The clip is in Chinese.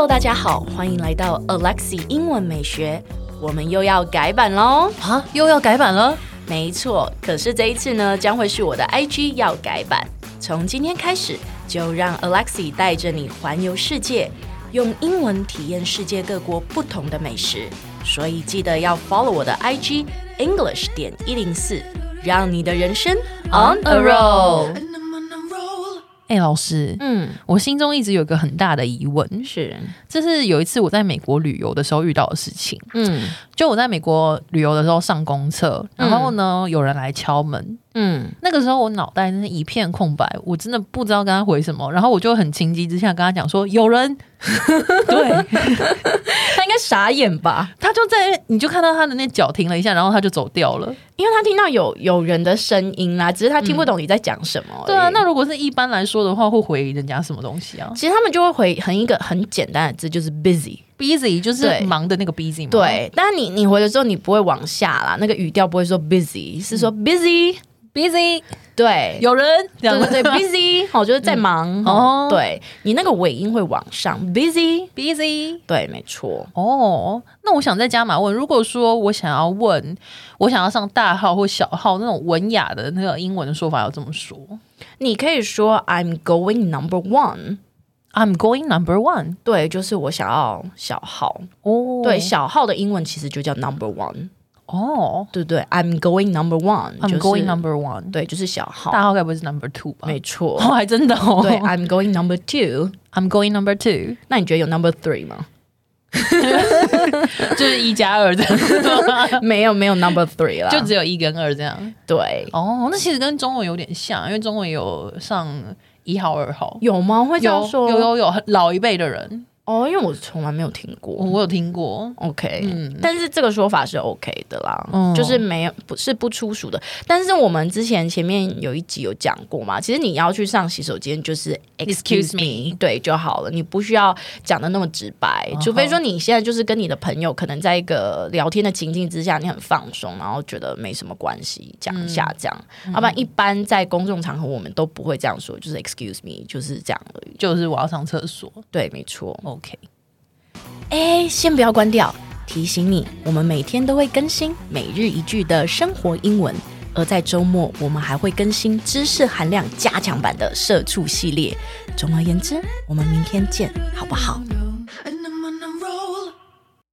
Hello， 大家好，歡迎來到 Alexi 英文美學。我們又要改版嘍！ 啊，又要改版了？ 沒錯，可是這一次呢，將會是我的 IG 要改版。從今天開始，就讓 Alexi 帶着你環遊世界，用英文體驗世界各國不同的美食。所以記得要 follow 我的 IG English.104，讓你的人生 on a roll。 老師，我心中一直有一個很大的疑問， 是， 這是有一次我在美國旅遊的時候遇到的事情。就我在美國旅遊的時候上公廁，然後呢，有人來敲門。那個時候我腦袋真是一片空白，我真的不知道跟他回什麼，然後我就很情急之下跟他講說有人。对， 他应該傻眼吧？ 他就在，你就看到他的那腳停了一下，然後他就走掉了， 因為他听到有人的聲音啦，只是他聽不懂你在講什麼。 對啊，那如果是一般來說的話，會回人家什麼東西啊？ 其實他們就會回一個很簡單的字，就是 busy。busy 就是忙的那個 busy 嘛。 對，但是你回的時候你不會往下啦，那個語調不會說 busy， 是說 busy。對， 有人， 對 busy 就是在忙。對，你那個尾音會往上 busy。 對，沒錯。 那我想再加碼問，如果說我想要上大號或小號那種文雅的那個英文的說法要這麼說， 你可以說 I'm going number one。I'm going number one， 對，就是我想要小號。對，小號的英文其實就叫 number one。對對 ，I'm going number one，I'm going number one， 對，就是小號。 大號該不會是 number two 吧？ 沒錯， 還真的哦。 對 ，I'm going number two，I'm going number two。 那你覺得有 number three 嗎？ 就是1+2這樣。 沒有 number three 啦， 就只有1跟2這樣。 對， 那其實跟中文有點像，因為中文有上1號、2號， 有嗎？會這樣說？ 有，老一輩的人。因為我從來沒有聽過。 我有聽過。 OK，但是這個說法是 OK 的啦，就是不粗俗的。但是我們前面有一集有講過嘛，其實你要去上洗手間就是 excuse me， 對就好了，你不需要講的那麼直白，除非說你現在就是跟你的朋友可能在一個聊天的情境之下，你很放鬆，然後覺得沒什麼關係，講一下這樣。要不然一般在公眾場合我們都不會這樣說，就是 excuse me， 就是這樣而已， 就是我要上廁所。 對，沒錯。 OK， 先不要關掉，提醒你，我們每天都會更新每日一句的生活英文，而在周末我們還會更新知識含量加強版的社畜系列。總而言之，我們明天見，好不好？